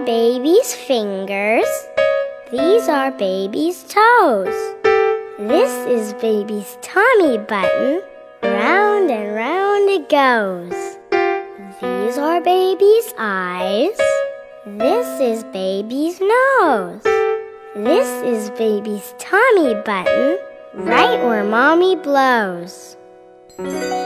baby's fingers. These are baby's toes. This is baby's tummy button. Round and round it goes. These are baby's eyes. This is baby's nose. This is baby's tummy button, right where mommy blows.